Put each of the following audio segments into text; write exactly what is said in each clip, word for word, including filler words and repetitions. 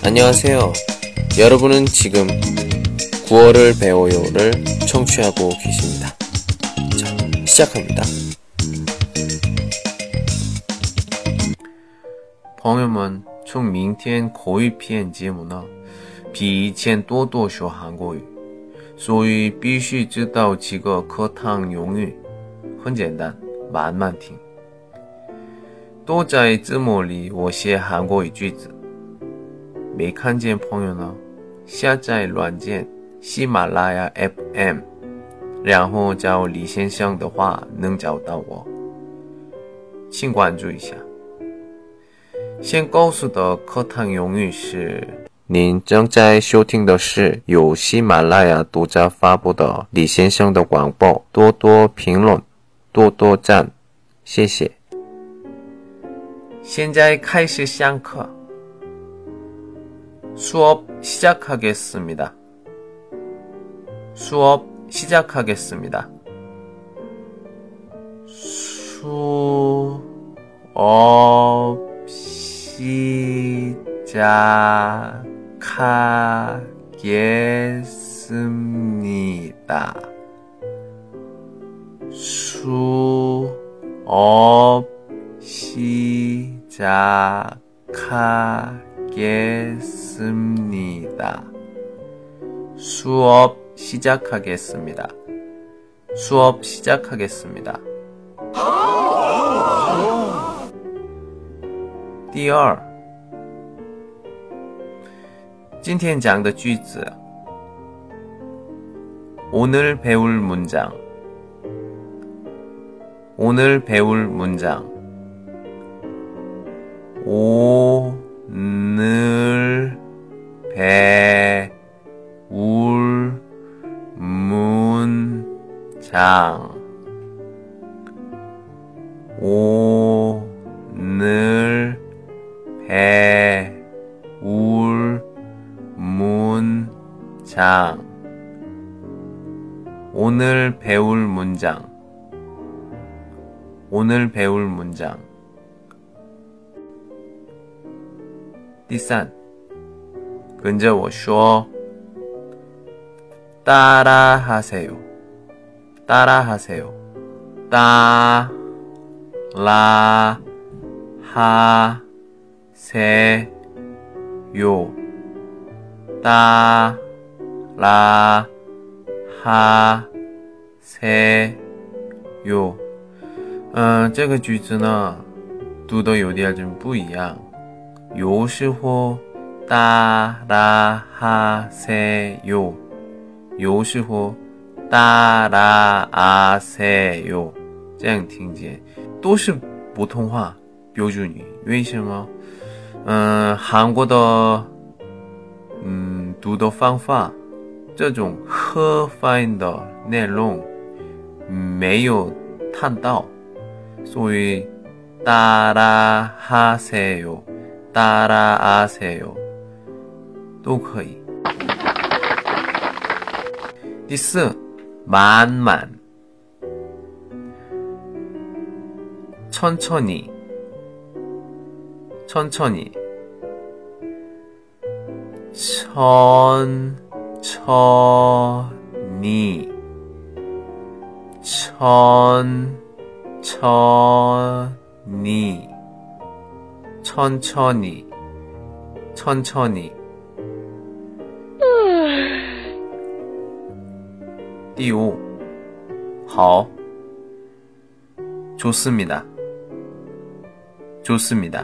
안녕하세요. 여러분은 지금 구월을 배워요를 청취하고 계십니다. 자, 시작합니다. 朋友们，从明天口语篇节目呢，比以前多多说韩国语，所以必须知道几个课堂用语，很简单，慢慢听。都在字幕里我写韩国语句子，没看见朋友呢，下载软件喜马拉雅 F M， 然后找李先生的话能找到我，请关注一下。先告诉的课堂用语是，您正在收听的是由喜马拉雅独家发布的李先生的广播，多多评论，多多赞，谢谢。现在开始上课。 수업 시작하겠습니다. 수업 시작하겠습니다. 수업 시작하겠습니다. 수업 시작하겠습니다. 수업 시작하겠습니다. 수업 시작하겠습니다. 第二，今天讲的句子 오늘 배울 문장 오늘 배울 문장 오늘 배울 문장 오늘 배울 문장 오늘 배울 문장 오늘 배울 문장 第三，跟着我说 따라하세요 따라하세요 따라하세요 따라하세요 嗯，这个句子呢读得有点不一样，有时候 따라하세요 有时候 따라하세요 这样听见都是普通话标准语，为什么？嗯，韩国的嗯读的方法，这种和发音的内容没有谈到，所以 따라하세요 따라하세요 都可以。第四，慢慢 천천히 천천히 천천히 천천히 천천히 천천히 第五，好， 좋습니다 좋습니다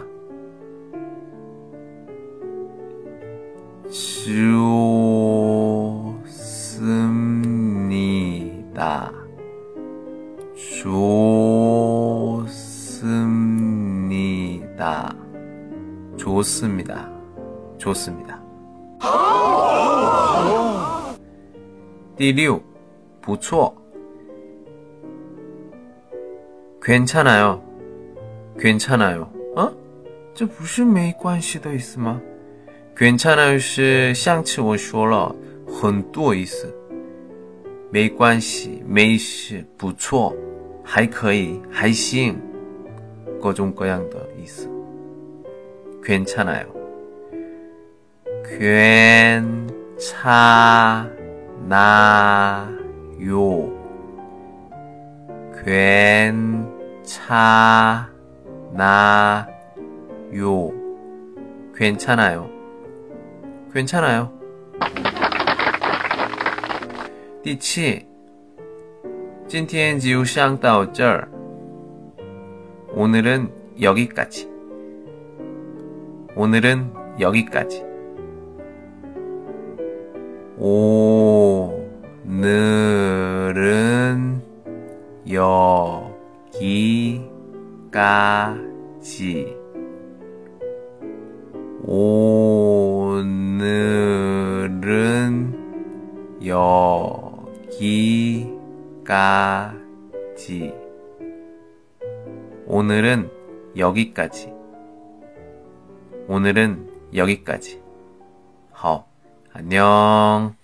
좋습니다 좋습니다 좋습니다 좋습니다 第六，不错 괜찮아요 괜찮아요 어? 这不是没关系的意思吗？ 괜찮아요 是上次我说了很多意思，没关系没事不错还可以还行各种各样的意思。괜찮아요 괜찮아요. 괜찮아요. 괜찮아요. 괜찮아요. 第七，今天就上到这儿。 오늘은 여기까지. 오늘은 여기까지. 오늘은 여기까지. 오늘은 여기까지. 오늘은 여기까지. 오늘은 여기까지. 好， 안녕.